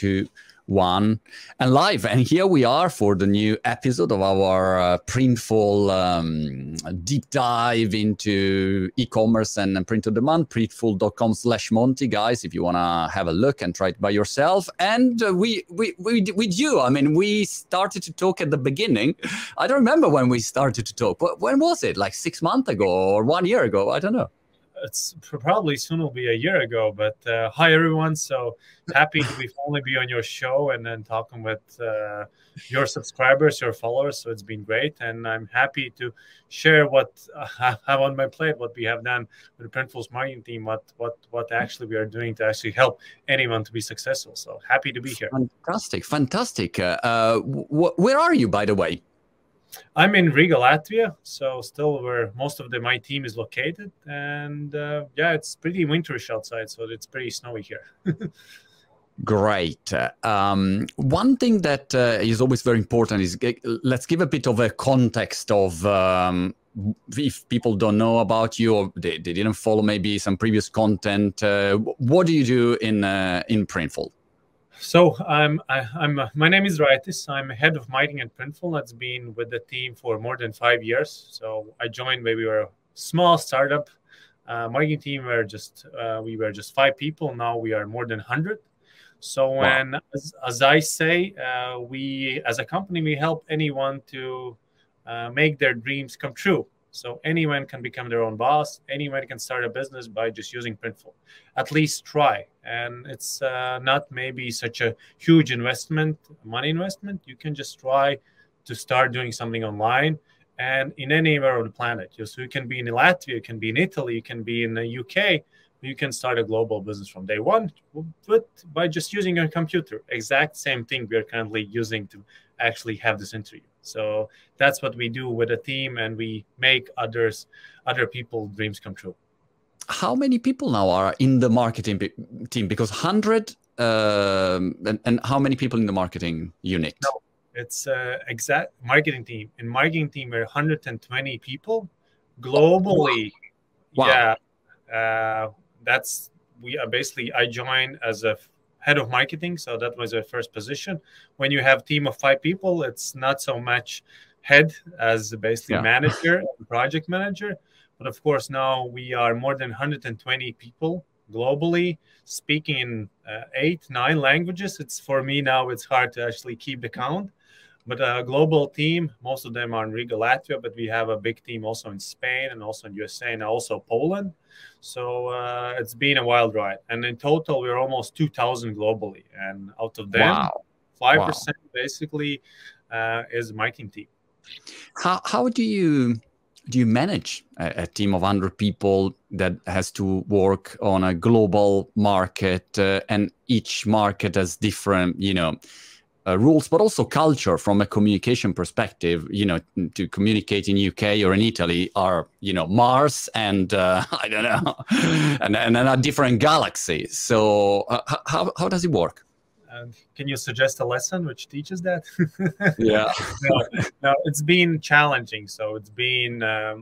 2, 1, and live. And here we are for the new episode of our Printful deep dive into e-commerce and print on demand. Printful.com/Monty, guys, if you want to have a look and try it by yourself. And with you, I mean, we started to talk at the beginning. I don't remember when we started to talk. When was it? Like 6 months ago or 1 year ago? I don't know. It's probably soon will be a year ago, but hi everyone. So happy to finally be on your show and then talking with your subscribers, your followers. So it's been great, and I'm happy to share what I have on my plate, what we have done with the Printful's marketing team, what actually we are doing to actually help anyone to be successful. So happy to be here. Fantastic. Where are you, by the way? I'm in Riga, Latvia, so still where most of my team is located. And it's pretty winterish outside, so it's pretty snowy here. Great. One thing that is always very important is let's give a bit of a context of if people don't know about you or they didn't follow maybe some previous content. What do you do in Printful? So my name is Raitis. I'm head of marketing at Printful. That's been with the team for more than 5 years. So I joined when we were a small startup marketing team. We were just 5 people. Now we are more than 100. So when, as I say, we as a company we help anyone to make their dreams come true. So anyone can become their own boss. Anyone can start a business by just using Printful. At least try. And it's not maybe such a huge money investment. You can just try to start doing something online and in anywhere on the planet. So you can be in Latvia, you can be in Italy, you can be in the UK. You can start a global business from day one, but by just using your computer. Exact same thing we are currently using to actually have this interview. So that's what we do with a team, and we make other people's dreams come true. How many people now are in the marketing team? Because 100, and how many people in the marketing unit? No, it's exact marketing team. In marketing team, we're 120 people globally. Wow. Yeah, I joined as a head of marketing, so that was our first position. When you have a team of 5 people, it's not so much head as basically manager and project manager. But of course, now we are more than 120 people globally, speaking in 8, 9 languages. For me now, it's hard to actually keep the count. But a global team, most of them are in Riga, Latvia, but we have a big team also in Spain and also in USA and also Poland. So it's been a wild ride. And in total, we're almost 2,000 globally. And out of them, 5% basically is marketing team. How do you manage a team of 100 people that has to work on a global market and each market has different, rules, but also culture from a communication perspective, to communicate in UK or in Italy are, Mars and I don't know, and a different galaxy. So how does it work? Can you suggest a lesson which teaches that? Yeah. No, it's been challenging. So it's been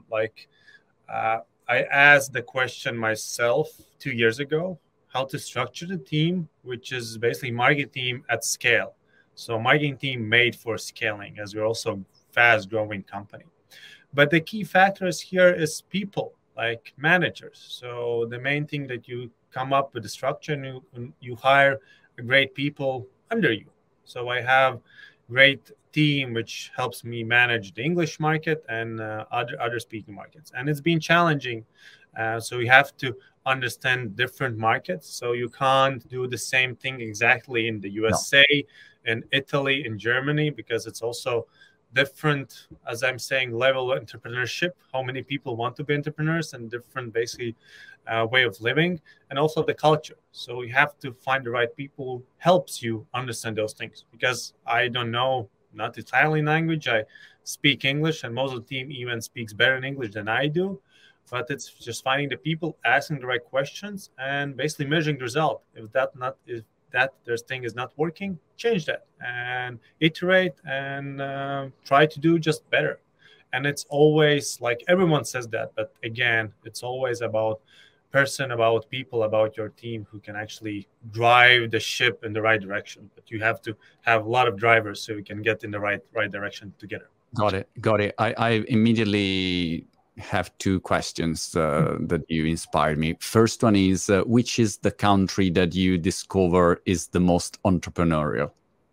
I asked the question myself 2 years ago, how to structure the team, which is basically marketing team at scale. So marketing team made for scaling, as we're also fast growing company. But the key factors here is people, like managers. So the main thing that you come up with the structure and you hire great people under you. So I have great team which helps me manage the English market and other speaking markets. And it's been challenging. So you have to understand different markets. So you can't do the same thing exactly in the USA, in Italy, in Germany, because it's also different, as I'm saying, level of entrepreneurship, how many people want to be entrepreneurs, and different basically way of living, and also the culture. So you have to find the right people who helps you understand those things, because I don't know, not Italian language. I speak English, and most of the team even speaks better in English than I do. But it's just finding the people, asking the right questions, and basically measuring the result. If their thing is not working, change that and iterate and try to do just better. And it's always like everyone says that, but again, it's always about person, about people, about your team who can actually drive the ship in the right direction. But you have to have a lot of drivers so you can get in the right direction together. Got it. I immediately have two questions that you inspired me. First one is, which is the country that you discover is the most entrepreneurial?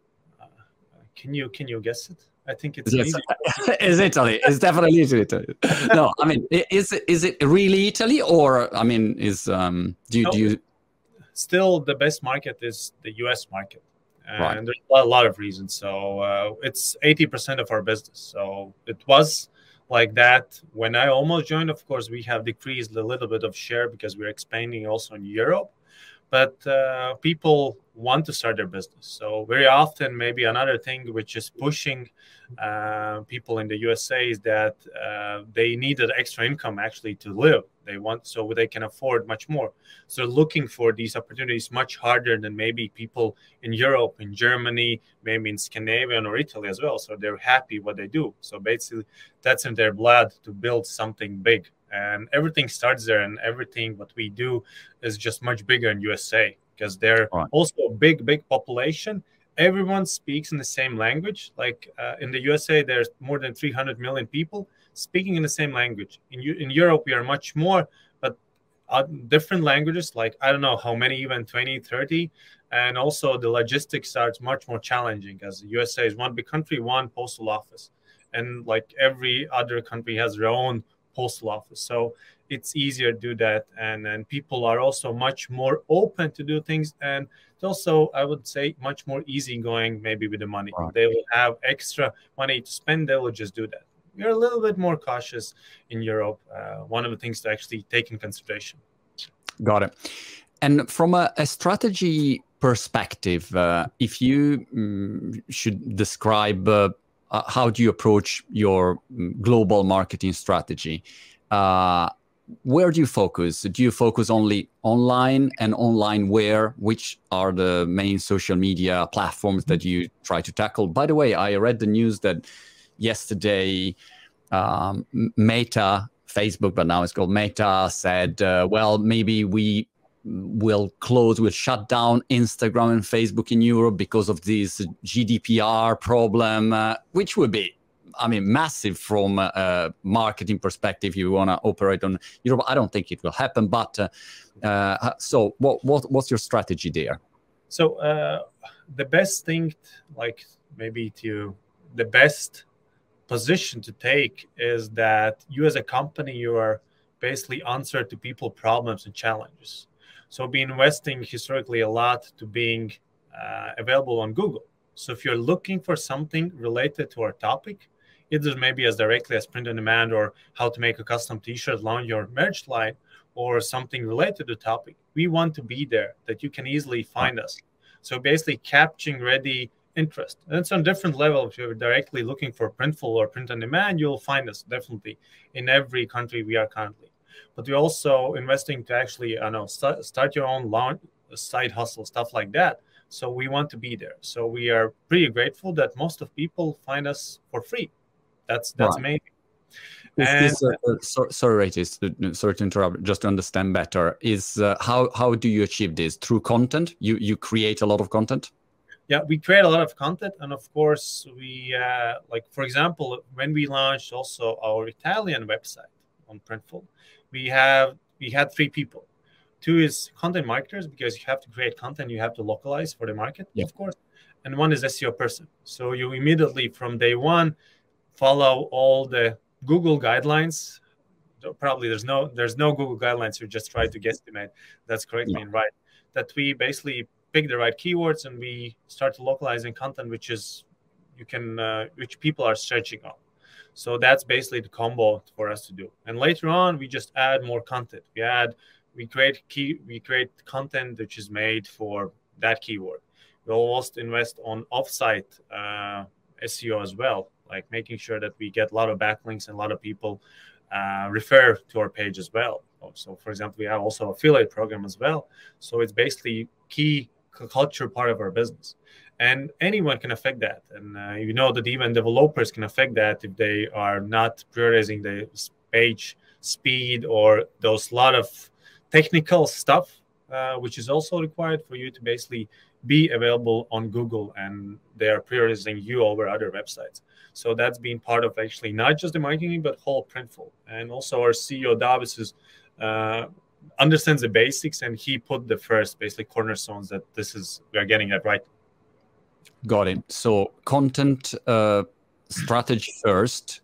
Can you guess it? I think it's easy. It's Italy. It's definitely Italy. No, I mean, is it really Italy, or I mean, do you? Still, the best market is the U.S. market, and Right. there's a lot of reasons. So it's 80% of our business. So it was like that when I almost joined. Of course, we have decreased a little bit of share because we're expanding also in Europe. But people want to start their business. So very often, maybe another thing which is pushing people in the USA is that they need an extra income actually to live. They want so they can afford much more. So looking for these opportunities much harder than maybe people in Europe, in Germany, maybe in Scandinavia or Italy as well. So they're happy what they do. So basically, that's in their blood to build something big. And everything starts there, and everything what we do is just much bigger in USA because they're also a big population. Everyone speaks in the same language. Like in the USA, there's more than 300 million people speaking in the same language. In Europe, we are much more, but different languages, like I don't know how many, even 20, 30. And also the logistics starts much more challenging as the USA is one big country, one postal office. And like every other country has their own postal office, so it's easier to do that, and then people are also much more open to do things, and it's also, I would say, much more easygoing maybe with the money. They will have extra money to spend, they will just do that. We're a little bit more cautious in Europe. One of the things to actually take in consideration. Got it. And from a strategy perspective, if you should describe how do you approach your global marketing strategy? Where do you focus? Do you focus only online, and online where? Which are the main social media platforms that you try to tackle? By the way, I read the news that yesterday Meta, Facebook, but now it's called Meta, said, well, maybe we'll shut down Instagram and Facebook in Europe because of this GDPR problem, which would be, I mean, massive from a marketing perspective. You want to operate on Europe. I don't think it will happen. But so what's your strategy there? So the best thing, the best position to take is that you as a company, you are basically answer to people problems and challenges. So be investing historically a lot to being available on Google. So if you're looking for something related to our topic, either maybe as directly as print on demand or how to make a custom t-shirt along your merch line or something related to the topic, we want to be there that you can easily find us. So basically capturing ready interest. And it's on different level. If you're directly looking for Printful or print on demand, you'll find us definitely in every country we are currently. But we're also investing to actually, start your own side hustle, stuff like that. So we want to be there. So we are pretty grateful that most of people find us for free. That's amazing. Sorry to interrupt. Just to understand better, is how do you achieve this? Through content? You create a lot of content? Yeah, we create a lot of content, and of course, we for example, when we launched also our Italian website on Printful, we had 3 people. 2 is content marketers, because you have to create content, you have to localize for the market, of course, and 1 is SEO person. So you immediately from day 1 follow all the Google guidelines. Probably there's no Google guidelines. You just try to guesstimate that's correctly and right. That we basically pick the right keywords and we start localizing content, which people are searching on. So that's basically the combo for us to do. And later on, we just add more content. We create content which is made for that keyword. We also invest on offsite SEO as well, like making sure that we get a lot of backlinks and a lot of people refer to our page as well. So, for example, we have also affiliate program as well. So it's basically key culture part of our business, and anyone can affect that. And that even developers can affect that if they are not prioritizing the page speed or those lot of technical stuff, which is also required for you to basically be available on Google, and they are prioritizing you over other websites. So that's been part of actually not just the marketing, but whole Printful. And also our CEO Davis is understands the basics, and he put the first basically cornerstones that we are getting that right. Got it. So content strategy first,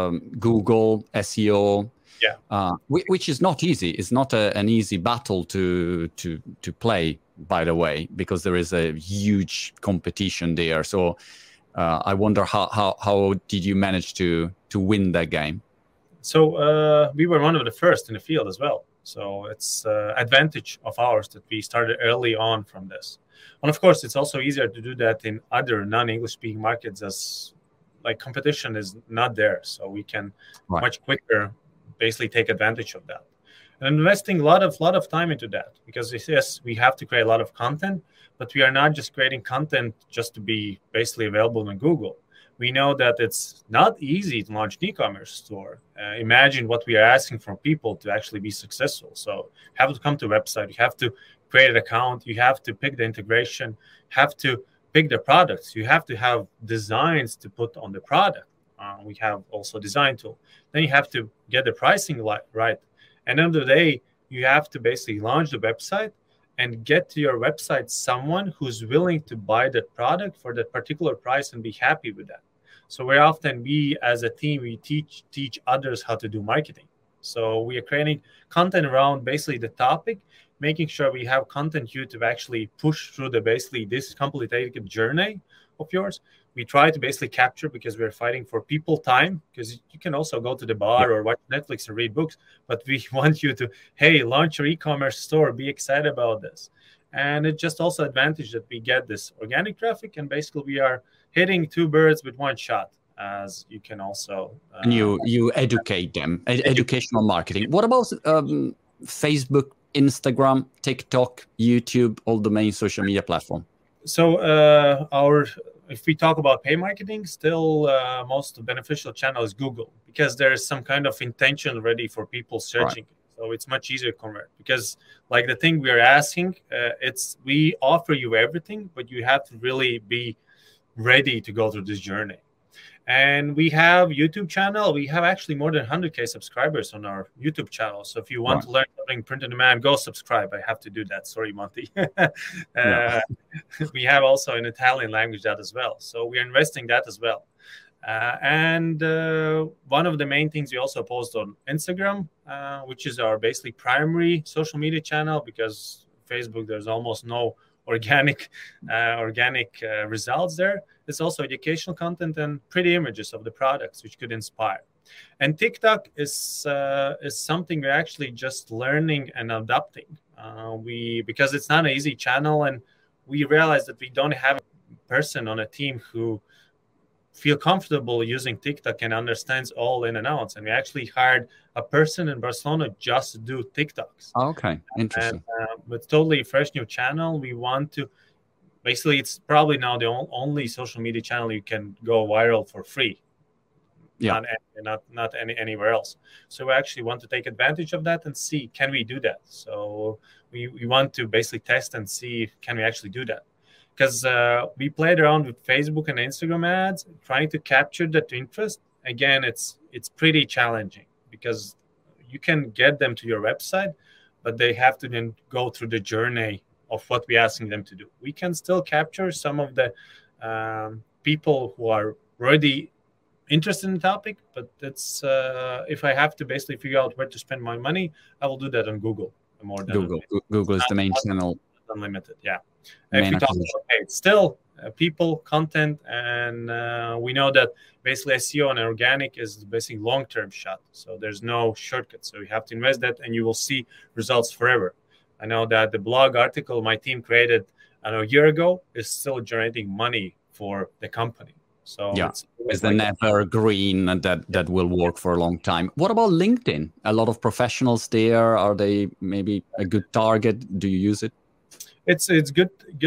Google SEO. Yeah. Which is not easy. It's not an easy battle to play, by the way, because there is a huge competition there. So I wonder how did you manage to win that game? So we were one of the first in the field as well. So it's advantage of ours that we started early on from this. And of course, it's also easier to do that in other non-English speaking markets, as like competition is not there. So we can much quicker basically take advantage of that. And investing a lot of time into that, because yes, we have to create a lot of content, but we are not just creating content just to be basically available on Google. We know that it's not easy to launch an e-commerce store. Imagine what we are asking from people to actually be successful. So you have to come to a website, you have to create an account, you have to pick the integration, you have to pick the products, you have to have designs to put on the product. We have also design tool. Then you have to get the pricing right. And end of the day, you have to basically launch the website and get to your website someone who's willing to buy that product for that particular price and be happy with that. So very often we as a team, we teach others how to do marketing. So we are creating content around basically the topic, making sure we have content here to actually push through this complicated journey of yours. We try to basically capture, because we're fighting for people time, because you can also go to the bar or watch Netflix and read books, but we want you to, hey, launch your e-commerce store, be excited about this. And it's just also advantage that we get this organic traffic, and basically we are hitting two birds with one shot, as you can also... and you educate them, educational marketing. What about Facebook, Instagram, TikTok, YouTube, all the main social media platform? So if we talk about pay marketing, still most beneficial channel is Google, because there is some kind of intention already for people searching. Right. So it's much easier to convert, because like the thing we are asking, we offer you everything, but you have to really be ready to go through this journey. And we have YouTube channel. We have actually more than 100K subscribers on our YouTube channel. So if you want to learn something print on demand, go subscribe. I have to do that. Sorry, Monty. We have also in Italian language that as well. So we're investing that as well. And one of the main things we also post on Instagram, which is our basically primary social media channel, because Facebook, there's almost no organic results there. It's also educational content and pretty images of the products which could inspire. And TikTok is something we're actually just learning and adapting. Because it's not an easy channel, and we realize that we don't have a person on a team who feel comfortable using TikTok and understands all in and outs. And we actually hired a person in Barcelona just to do TikToks. Okay, interesting. And it's totally fresh new channel. We want to, basically, it's probably now the only social media channel you can go viral for free. Yeah. Not anywhere else. So we actually want to take advantage of that and see, can we do that? So we want to basically test and see, can we actually do that? Because we played around with Facebook and Instagram ads, trying to capture that interest. Again, it's pretty challenging, because you can get them to your website, but they have to then go through the journey of what we're asking them to do. We can still capture some of the people who are already interested in the topic, but it's if I have to basically figure out where to spend my money, I will do that on Google more than Google is the main channel. Unlimited, yeah. If we talk about paid, still people, content, and we know that basically SEO and organic is basically long-term shot. So there's no shortcut. So you have to invest that, and you will see results forever. I know that the blog article my team created a year ago is still generating money for the company. So yeah, it's the never green, and that will work for a long time. What about LinkedIn? A lot of professionals there. Are they maybe a good target? Do you use it? It's good.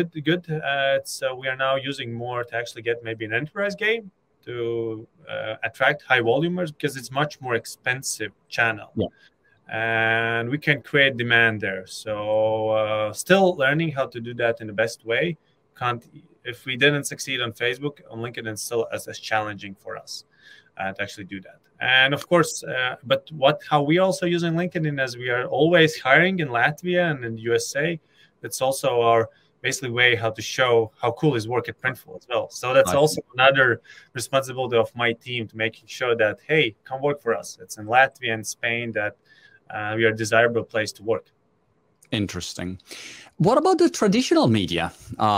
We are now using more to actually get maybe an enterprise game to attract high volumers, because it's much more expensive channel. Yeah. and we can create demand there. So still learning how to do that in the best way. If we didn't succeed on Facebook, on LinkedIn, it's still as challenging for us to actually do that. And of course, but how we also using LinkedIn, as we are always hiring in Latvia and in the USA, it's also our basically way how to show how cool is work at Printful as well. So that's also another responsibility of my team, to making sure that, hey, come work for us. It's in Latvia and Spain that we are a desirable place to work. Interesting. What about the traditional media?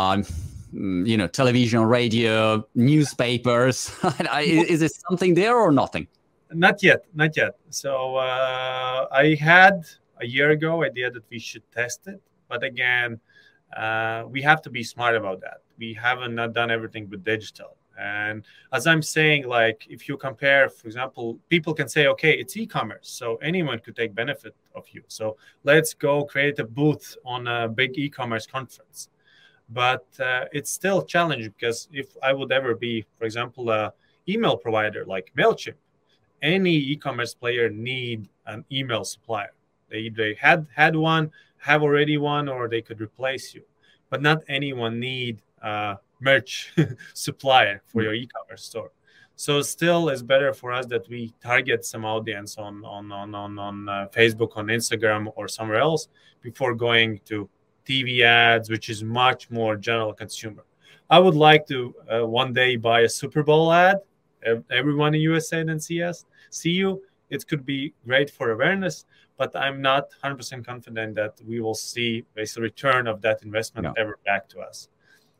Television, radio, newspapers. Is it something there or nothing? Not yet. So I had a year ago idea that we should test it, but again, we have to be smart about that. We haven't not done everything with digital. And as I'm saying, like if you compare, for example, people can say, okay, it's e-commerce, so anyone could take benefit of you. So let's go create a booth on a big e-commerce conference. But it's still challenging, because if I would ever be, for example, a email provider like MailChimp, any e-commerce player need an email supplier. They either had one, have already one, or they could replace you. But not anyone need a merch supplier for your e-commerce store. So still, it's better for us that we target some audience on Facebook, on Instagram, or somewhere else before going to TV ads, which is much more general consumer. I would like to one day buy a Super Bowl ad. Everyone in USA then see you. It could be great for awareness, but I'm not 100% confident that we will see a return of that investment ever back to us.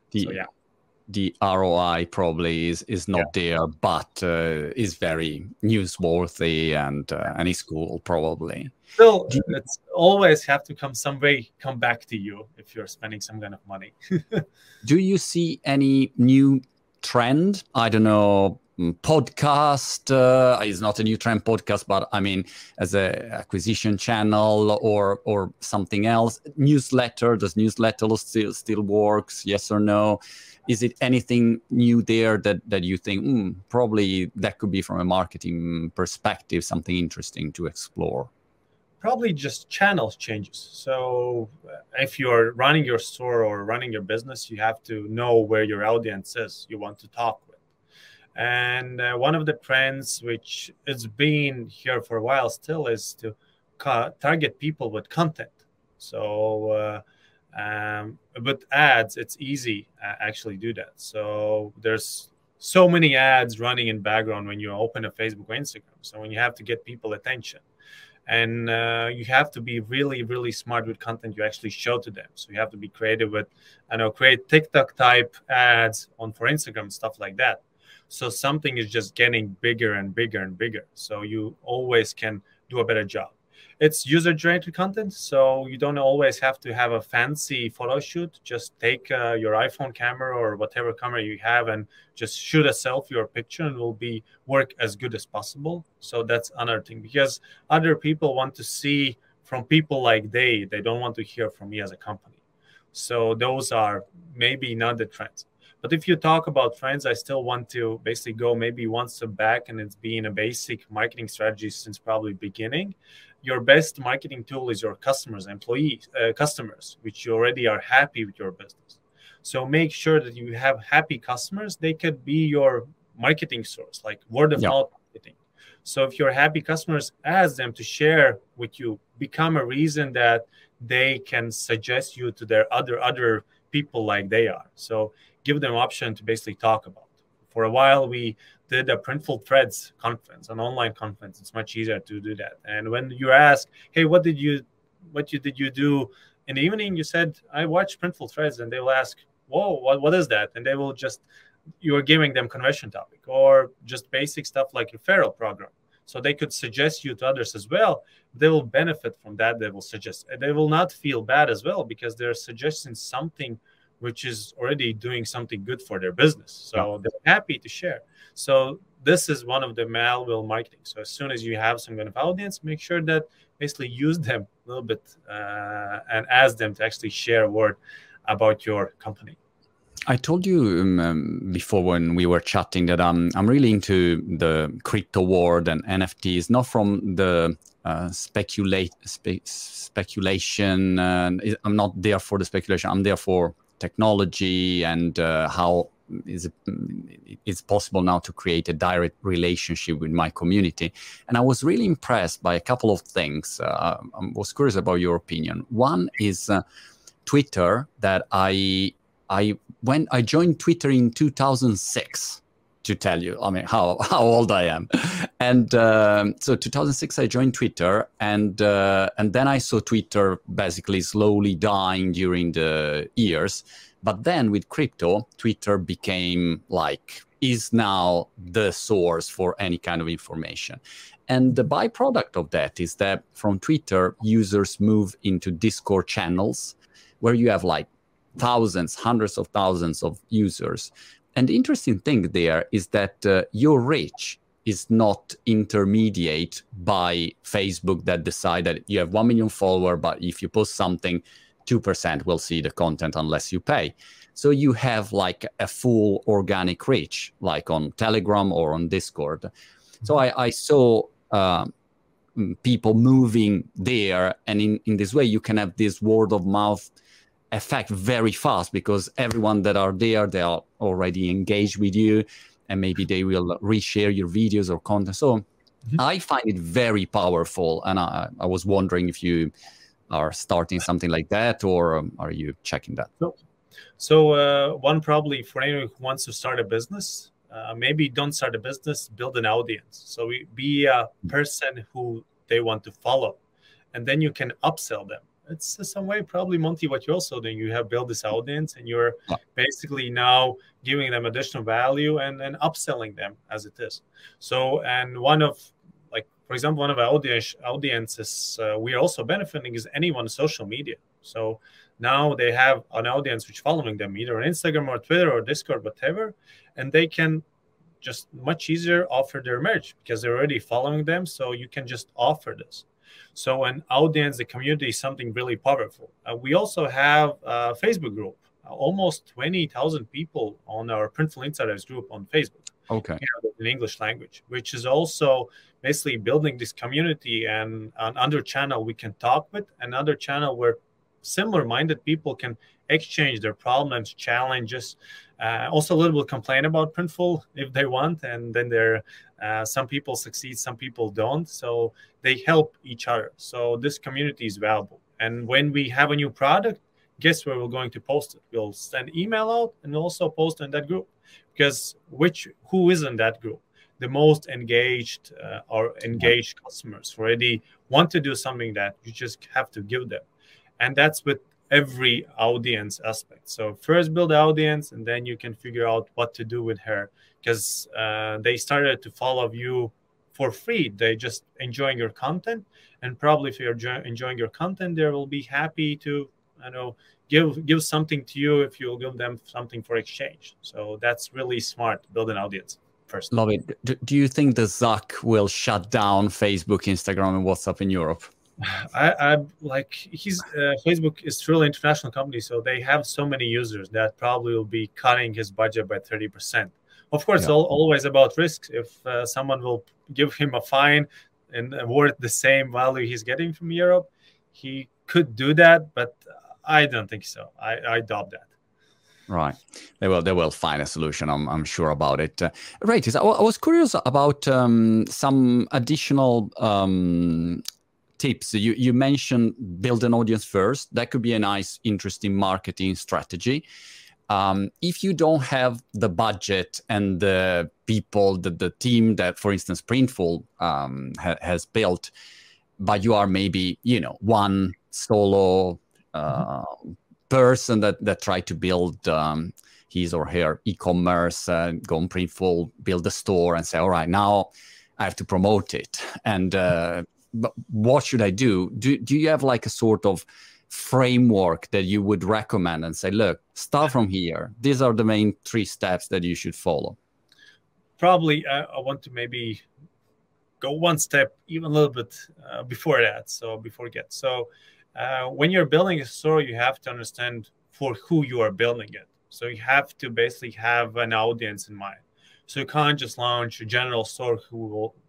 The ROI probably is not there, but is very newsworthy and is cool probably. Still, it's always have to come back to you if you're spending some kind of money. Do you see any new trend? I don't know, podcast is not a new trend, podcast, but I mean as a acquisition channel or something else. Newsletter, does newsletter still works? Yes or no? Is it anything new there that you think probably that could be, from a marketing perspective, something interesting to explore? Probably just channels changes. So if you're running your store or running your business, you have to know where your audience is you want to talk with. And one of the trends, which has been here for a while still, is to target people with content. So with ads, it's easy actually do that. So there's so many ads running in background when you open a Facebook or Instagram. So when you have to get people attention, and you have to be really, really smart with content you actually show to them. So you have to be creative with, create TikTok type ads for Instagram, stuff like that. So something is just getting bigger and bigger and bigger. So you always can do a better job. It's user-generated content, so you don't always have to have a fancy photo shoot. Just take your iPhone camera or whatever camera you have and just shoot a selfie or picture, and it will work as good as possible. So that's another thing, because other people want to see from people like they don't want to hear from me as a company. So those are maybe not the trends. But if you talk about trends, I still want to basically go maybe one step back, and it's been a basic marketing strategy since probably beginning. Your best marketing tool is your customers, customers, which you already are happy with your business. So make sure that you have happy customers. They could be your marketing source, like word of mouth marketing. So if you're happy customers, ask them to share with you, become a reason that they can suggest you to their other people like they are. So give them option to basically talk about. For a while, we did a Printful Threads conference, an online conference. It's much easier to do that. And when you ask, hey, what did you do in the evening? You said, I watched Printful Threads, and they will ask, whoa, what is that? And they will you're giving them conversion topic or just basic stuff like referral program. So they could suggest you to others as well. They will benefit from that. They will suggest. They will not feel bad as well, because they're suggesting something which is already doing something good for their business. So they're happy to share. So this is one of the malware marketing. So as soon as you have some kind of audience, make sure that basically use them a little bit and ask them to actually share a word about your company. I told you before when we were chatting that I'm really into the crypto world and NFTs, not from the speculation. I'm not there for the speculation. I'm there for technology and how it's possible now to create a direct relationship with my community. And I was really impressed by a couple of things. I was curious about your opinion. One is Twitter, that I joined Twitter in 2006. To tell you, I mean, how old I am, and so 2006 I joined Twitter, and then I saw Twitter basically slowly dying during the years. But then with crypto, Twitter became is now the source for any kind of information. And the byproduct of that is that from Twitter, users move into Discord channels where you have thousands, hundreds of thousands of users. And the interesting thing there is that your reach is not intermediate by Facebook that decide that you have 1 million followers, but if you post something, 2% will see the content unless you pay. So you have a full organic reach, like on Telegram or on Discord. So I saw people moving there, and in this way you can have this word of mouth effect very fast, because everyone that are there, they are already engaged with you, and maybe they will reshare your videos or content. So I find it very powerful, and I was wondering if you are starting something like that, or are you checking that? So one probably for anyone who wants to start a business, maybe don't start a business, build an audience. So be a person who they want to follow, and then you can upsell them. It's some way probably, Monty, what you're also doing. You have built this audience, and you're basically now giving them additional value and upselling them as it is. So, and one of, for example, one of our audiences we're also benefiting is anyone on social media. So now they have an audience which following them either on Instagram or Twitter or Discord, whatever, and they can just much easier offer their merch because they're already following them. So you can just offer this. So an audience, the community is something really powerful. We also have a Facebook group, almost 20,000 people on our Printful Insiders group on Facebook. Okay. In English language, which is also basically building this community, and another channel we can talk with, another channel where similar-minded people can exchange their problems, challenges, also a little bit complain about Printful if they want, and then some people succeed, some people don't, so they help each other. So this community is valuable, and when we have a new product, guess where we're going to post it? We'll send email out and also post in that group, because who is in that group? The most engaged customers who already want to do something that you just have to give them. And that's with every audience aspect. So first build the audience, and then you can figure out what to do with her, because they started to follow you for free. They just enjoying your content, and probably if you're enjoying your content, they will be happy to give something to you if you'll give them something for exchange. So that's really smart. Build an audience first. Love it. Do you think the Zuck will shut down Facebook, Instagram, and WhatsApp in Europe? Facebook is truly international company, so they have so many users that probably will be cutting his budget by 30%. Of course, it's always about risks. If someone will give him a fine and worth the same value he's getting from Europe, he could do that, but I don't think so. I doubt that. Right. They will find a solution. I'm sure about it. Right. I was curious about some additional tips. You mentioned build an audience first. That could be a nice, interesting marketing strategy. If you don't have the budget and the people, the team that, for instance, Printful has built, but you are maybe, one solo person that try to build his or her e-commerce, go on Printful, build a store and say, all right, now I have to promote it. And but what should I do? Do you have a sort of framework that you would recommend and say, look, start from here. These are the main 3 steps that you should follow? Probably I want to maybe go one step, even a little bit before that. So when you're building a store, you have to understand for who you are building it. So you have to basically have an audience in mind. So you can't just launch a general store who will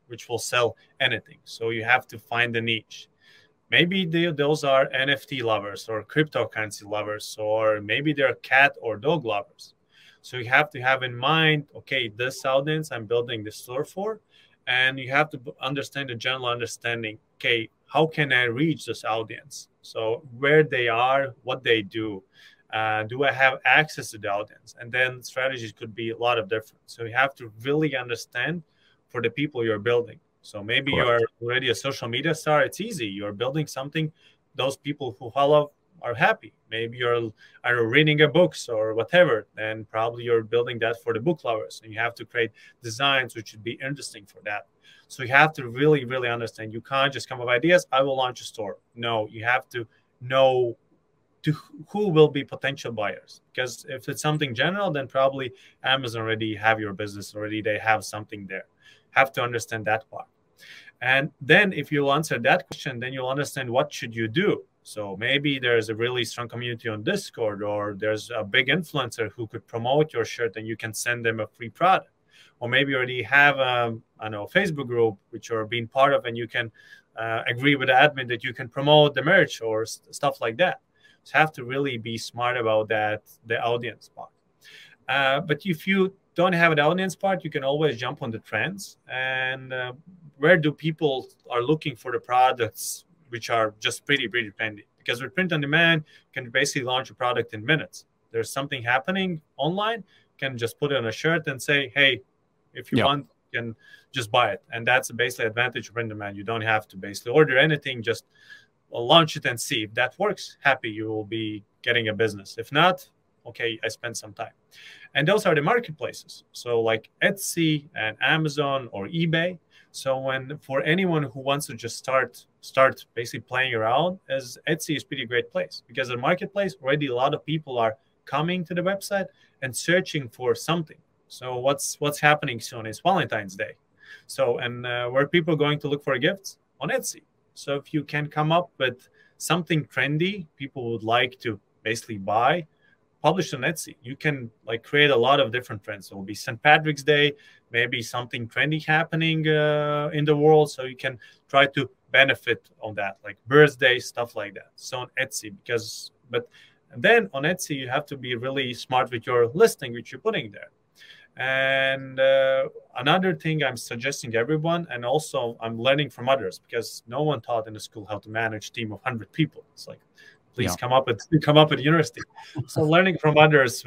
which will sell anything. So you have to find a niche. Maybe those are NFT lovers or cryptocurrency lovers, or maybe they're cat or dog lovers. So you have to have in mind, okay, this audience I'm building the store for, and you have to understand the general understanding, okay, how can I reach this audience? So where they are, what they do. Do I have access to the audience? And then strategies could be a lot of different. So you have to really understand for the people you're building. So maybe Correct. you're already a social media star. It's easy. You're building something. Those people who follow are happy. Maybe you're reading a books or whatever. Then probably you're building that for the book lovers. And you have to create designs which should be interesting for that. So you have to really, really understand. You can't just come up with ideas. I will launch a store. No, you have to know to who will be potential buyers, because if it's something general, then probably Amazon already have your business already. They have something there. Have to understand that part. And then if you'll answer that question, then you'll understand what should you do. So maybe there's a really strong community on Discord, or there's a big influencer who could promote your shirt and you can send them a free product. Or maybe you already have a Facebook group which you're being part of, and you can agree with the admin that you can promote the merch or stuff like that. So have to really be smart about that, the audience part. But if you don't have an audience part, you can always jump on the trends. And where do people are looking for the products which are just pretty trendy? Because with print on demand, you can basically launch a product in minutes. There's something happening online, you can just put it on a shirt and say, hey, if you want, you can just buy it. And that's basically advantage of print on demand. You don't have to basically order anything, just launch it and see if that works. Happy, you will be getting a business. If not, okay, I spent some time. And those are the marketplaces. So like Etsy and Amazon or eBay. So for anyone who wants to just start basically playing around, as Etsy is a pretty great place, because the marketplace already a lot of people are coming to the website and searching for something. So what's happening soon is Valentine's Day. So and where people are going to look for gifts? On Etsy. So if you can come up with something trendy people would like to basically buy, publish on Etsy. You can create a lot of different trends. It will be St. Patrick's Day, maybe something trendy happening in the world. So you can try to benefit on that, like birthday, stuff like that. So on Etsy, but then on Etsy, you have to be really smart with your listing, which you're putting there. And another thing I'm suggesting to everyone, and also I'm learning from others, because no one taught in the school how to manage a team of 100 people. It's like, please come up at university. So learning from others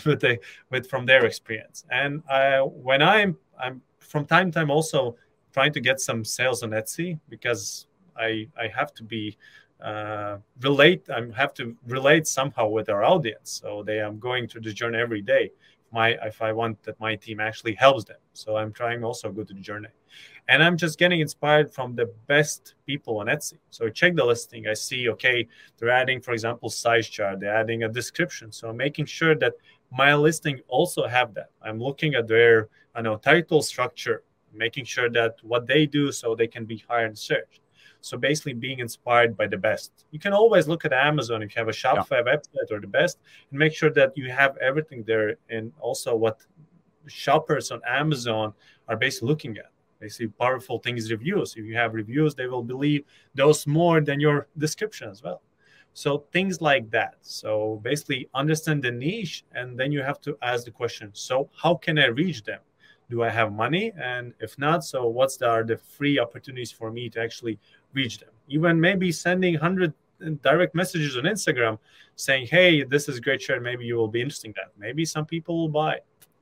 from their experience. And when I'm from time to time also trying to get some sales on Etsy, because I have to be I have to relate somehow with our audience. So I'm going through this journey every day. If I want that my team actually helps them. So I'm trying also to go to the journey. And I'm just getting inspired from the best people on Etsy. So I check the listing. I see, okay, they're adding, for example, size chart. They're adding a description. So I'm making sure that my listing also have that. I'm looking at their title structure, making sure that what they do so they can be higher in search. So basically being inspired by the best. You can always look at Amazon if you have a Shopify website or the best, and make sure that you have everything there, and also what shoppers on Amazon are basically looking at. Basically powerful things, reviews. If you have reviews, they will believe those more than your description as well. So things like that. So basically understand the niche, and then you have to ask the question, so how can I reach them? Do I have money? And if not, so are the free opportunities for me to actually reach them? Even maybe sending 100 direct messages on Instagram saying, hey, this is a great shirt. Maybe you will be interested in that. Maybe some people will buy.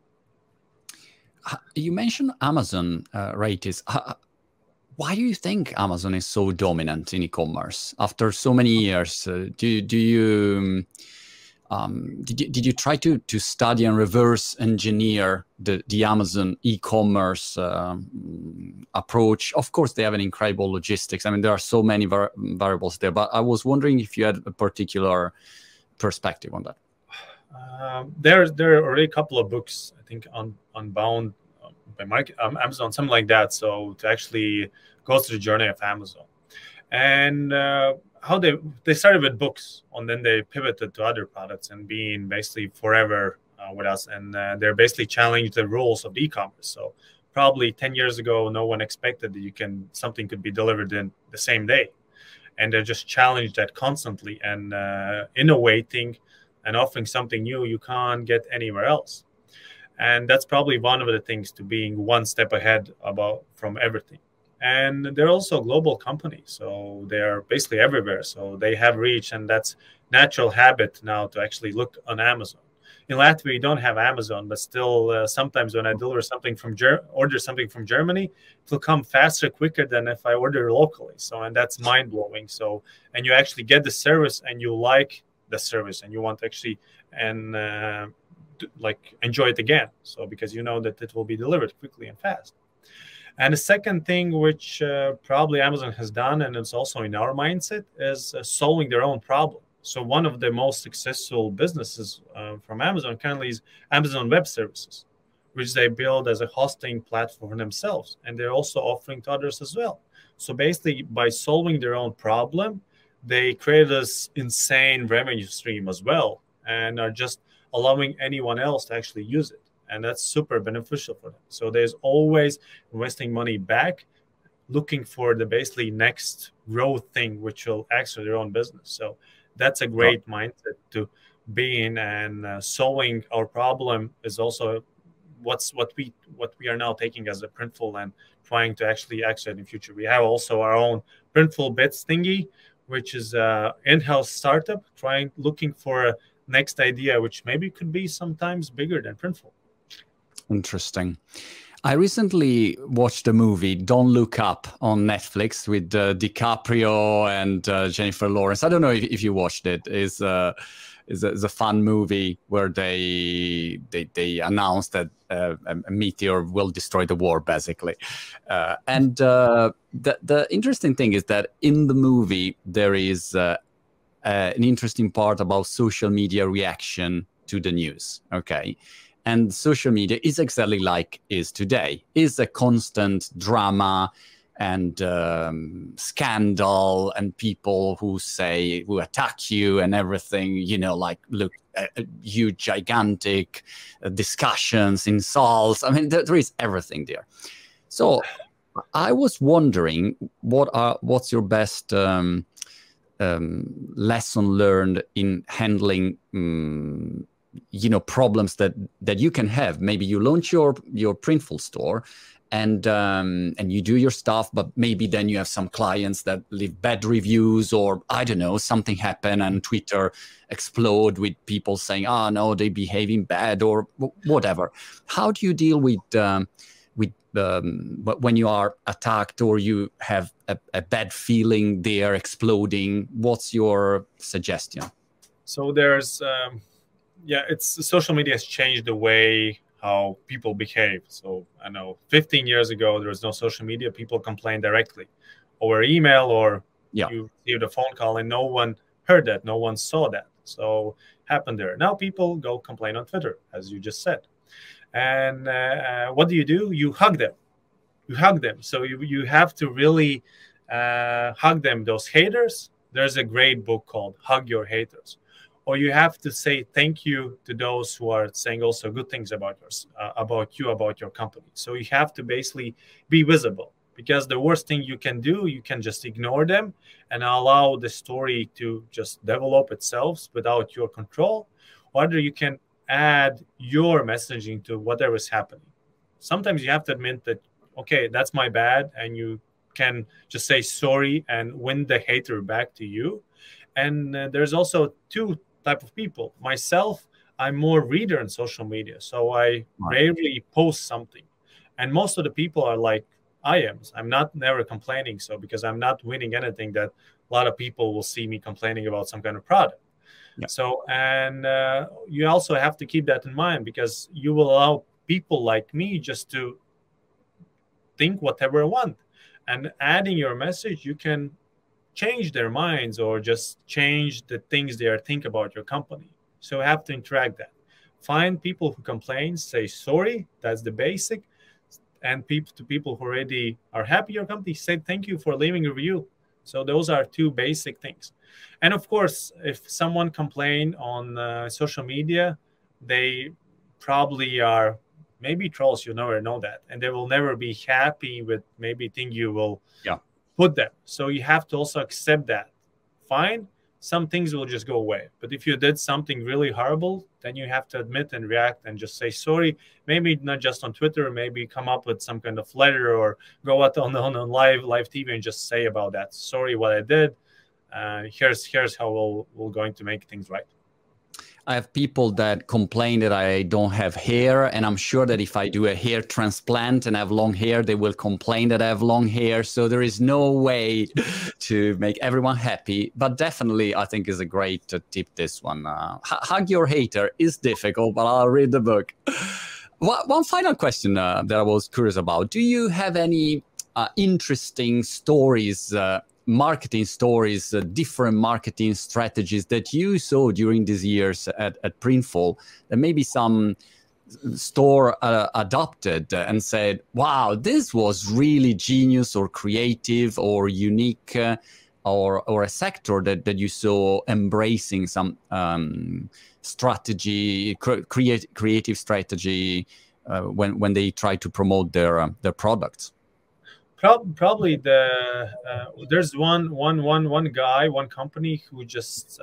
You mentioned Amazon, Raitis. Why do you think Amazon is so dominant in e-commerce after so many years? Did you try to study and reverse engineer the Amazon e-commerce approach? Of course, they have an incredible logistics. I mean, there are so many variables there, but I was wondering if you had a particular perspective on that. There are already a couple of books, I think, Unbound by Amazon, something like that. So to actually go through the journey of Amazon. And how they started with books, and then they pivoted to other products and being basically forever with us. And they're basically challenging the rules of the e-commerce. So probably 10 years ago, no one expected that something could be delivered in the same day. And they're just challenged that constantly and innovating and offering something new you can't get anywhere else. And that's probably one of the things to being one step ahead from everything. And they're also a global company, so they're basically everywhere. So they have reach, and that's natural habit now to actually look on Amazon. In Latvia, we don't have Amazon, but still, sometimes when I order something from Germany, it will come faster, quicker than if I order locally. So, and that's mind blowing. So, and you actually get the service, and you like the service, and you want to actually enjoy it again. So, because you know that it will be delivered quickly and fast. And the second thing, which probably Amazon has done, and it's also in our mindset, is solving their own problem. So one of the most successful businesses from Amazon currently is Amazon Web Services, which they build as a hosting platform for themselves. And they're also offering to others as well. So basically, by solving their own problem, they create this insane revenue stream as well, and are just allowing anyone else to actually use it. And that's super beneficial for them. So there's always investing money back, looking for the basically next growth thing, which will accelerate their own business. So that's a great mindset to be in, and solving our problem is also what we are now taking as a Printful and trying to actually accelerate in the future. We have also our own Printful Bits thingy, which is an in-house startup looking for a next idea, which maybe could be sometimes bigger than Printful. Interesting. I recently watched a movie, Don't Look Up, on Netflix with DiCaprio and Jennifer Lawrence. I don't know if you watched it. It's a fun movie where they announced that a meteor will destroy the world, basically. And the interesting thing is that in the movie, there is an interesting part about social media reaction to the news. Okay. And social media is exactly like is today. Is a constant drama and scandal, and people who attack you and everything, like, look, huge, gigantic discussions, insults. I mean, there is everything there. So I was wondering, what's your best lesson learned in handling problems that you can have. Maybe you launch your Printful store and you do your stuff, but maybe then you have some clients that leave bad reviews, or I don't know, something happen and Twitter explode with people saying, oh no, they're behaving bad or whatever. How do you deal with when you are attacked or you have a bad feeling they're exploding? What's your suggestion? So there's social media has changed the way how people behave. So I know 15 years ago, there was no social media. People complained directly over email, or you received a phone call and no one heard that. No one saw that. So happened there. Now people go complain on Twitter, as you just said. And what do? You hug them. You hug them. So you have to really hug them. Those haters, there's a great book called Hug Your Haters. Or you have to say thank you to those who are saying also good things about your company. So you have to basically be visible, because the worst thing you can do, you can just ignore them and allow the story to just develop itself without your control. Or you can add your messaging to whatever is happening. Sometimes you have to admit that, okay, that's my bad, and you can just say sorry and win the hater back to you. And there's also two type of people. Myself, I'm more reader on social media, so I rarely post something. And most of the people are like I am. I'm never complaining, so because I'm not winning anything that a lot of people will see me complaining about some kind of product. Yeah. So, and you also have to keep that in mind, because you will allow people like me just to think whatever I want. And adding your message, you can change their minds or just change the things they are thinking about your company. So you have to interact that. Find people who complain, say sorry. That's the basic. And people who already are happy your company, say thank you for leaving a review. So those are two basic things. And of course, if someone complain on social media, they probably are maybe trolls. You never know that, and they will never be happy with maybe thing you will Yeah. put them. So you have to also accept that. Fine, some things will just go away. But if you did something really horrible, then you have to admit and react and just say sorry. Maybe not just on Twitter, maybe come up with some kind of letter or go out on live TV and just say about that. Sorry, what I did. Here's how we're going to make things right. I have people that complain that I don't have hair, and I'm sure that if I do a hair transplant and have long hair, they will complain that I have long hair. So there is no way to make everyone happy. But definitely, I think is a great tip, this one. Hug your hater is difficult, but I'll read the book. One final question that I was curious about. Do you have any interesting stories, marketing stories, different marketing strategies that you saw during these years at Printful that maybe some store adopted and said, wow, this was really genius or creative or unique, or a sector that you saw embracing some strategy, creative strategy when they try to promote their products? Probably there's one guy, one company who just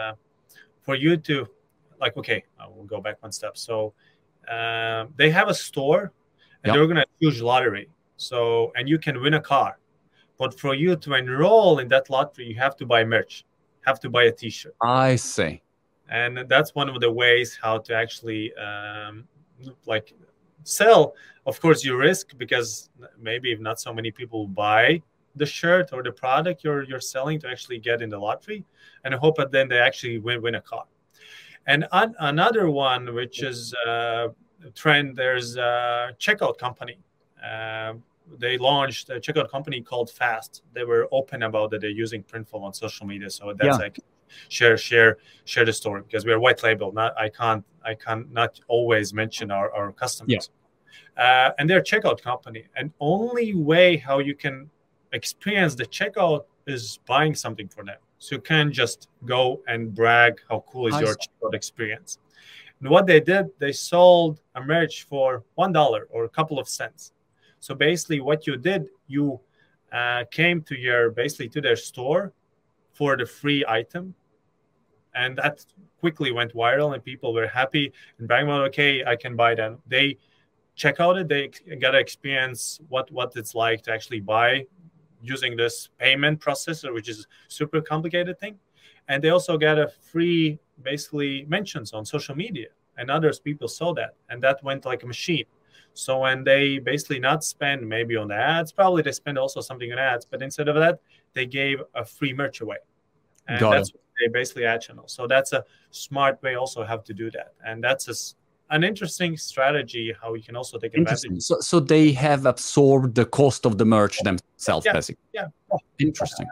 for you to like, okay, I will go back one step. So they have a store and they're gonna choose lottery. So and you can win a car, but for you to enroll in that lottery, you have to buy merch, have to buy a T-shirt. I see. And that's one of the ways how to actually like sell. Of course, you risk because maybe if not so many people buy the shirt or the product you're selling to actually get in the lottery, and I hope that then they actually win a car. And another one, which is a trend, there's a checkout company. They launched a checkout company called Fast. They were open about that they're using Printful on social media, so that's like share the story because we're white label. I can't not always mention our customers. Yeah. And they're a checkout company, and only way how you can experience the checkout is buying something for them. So you can't just go and brag how cool is your checkout experience. And what they did, they sold a merch for $1 or a couple of cents. So basically, what you did, you came to their store for the free item, and that quickly went viral, and people were happy and bragging about, okay, I can buy that. They check out it. They got to experience what it's like to actually buy using this payment processor, which is super complicated thing. And they also got a free, basically, mentions on social media. And others people saw that. And that went like a machine. So when they basically not spend maybe on the ads, probably they spend also something on ads. But instead of that, they gave a free merch away. And that's what they basically ad channel. So that's a smart way also how to do that. And that's an interesting strategy how you can also take advantage. So they have absorbed the cost of the merch themselves, basically. Yeah. Interesting.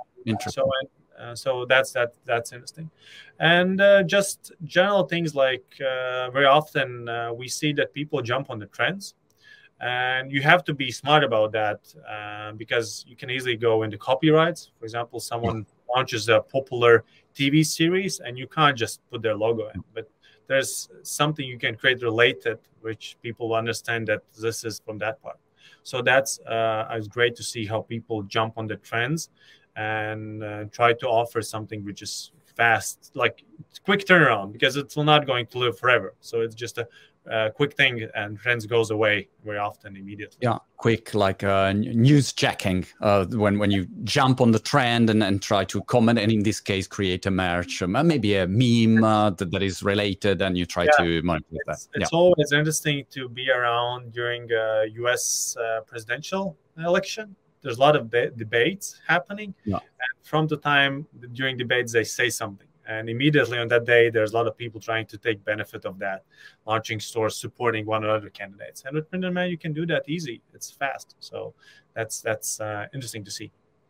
So that's interesting. And just general things like very often we see that people jump on the trends, and you have to be smart about that because you can easily go into copyrights. For example, someone launches a popular TV series and you can't just put their logo in, but there's something you can create related, which people understand that this is from that part. So that's it's great to see how people jump on the trends and try to offer something which is fast, like quick turnaround, because it's not going to live forever. So it's just a quick thing, and trends goes away very often immediately. Yeah, quick, like news checking when you jump on the trend and try to comment, and in this case create a merch, maybe a meme that is related, and you try to manipulate that. It's always interesting to be around during U.S. Presidential election. There's a lot of debates happening, and from the time during debates they say something. And immediately on that day, there's a lot of people trying to take benefit of that, launching stores, supporting one another candidates. And with Print on Demand, you can do that easy. It's fast. So that's interesting to see.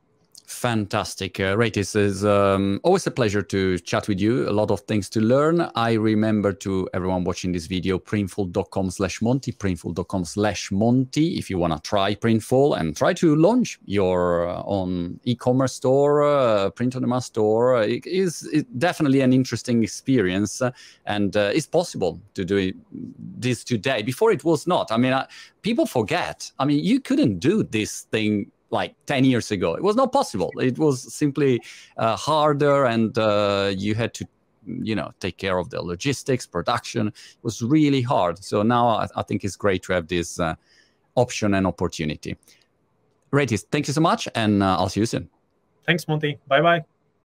Fantastic. Ratis, is always a pleasure to chat with you. A lot of things to learn. I remember to everyone watching this video, printful.com/Monty, printful.com/Monty, if you want to try Printful and try to launch your own e-commerce store, print-on-demand store. It is definitely an interesting experience, and it's possible to do this today. Before it was not. I mean, people forget. I mean, you couldn't do this thing like 10 years ago. It was not possible. It was simply harder, and you had to, take care of the logistics, production. It was really hard. So now I think it's great to have this option and opportunity. Ratis, thank you so much, and I'll see you soon. Thanks, Monty. Bye-bye.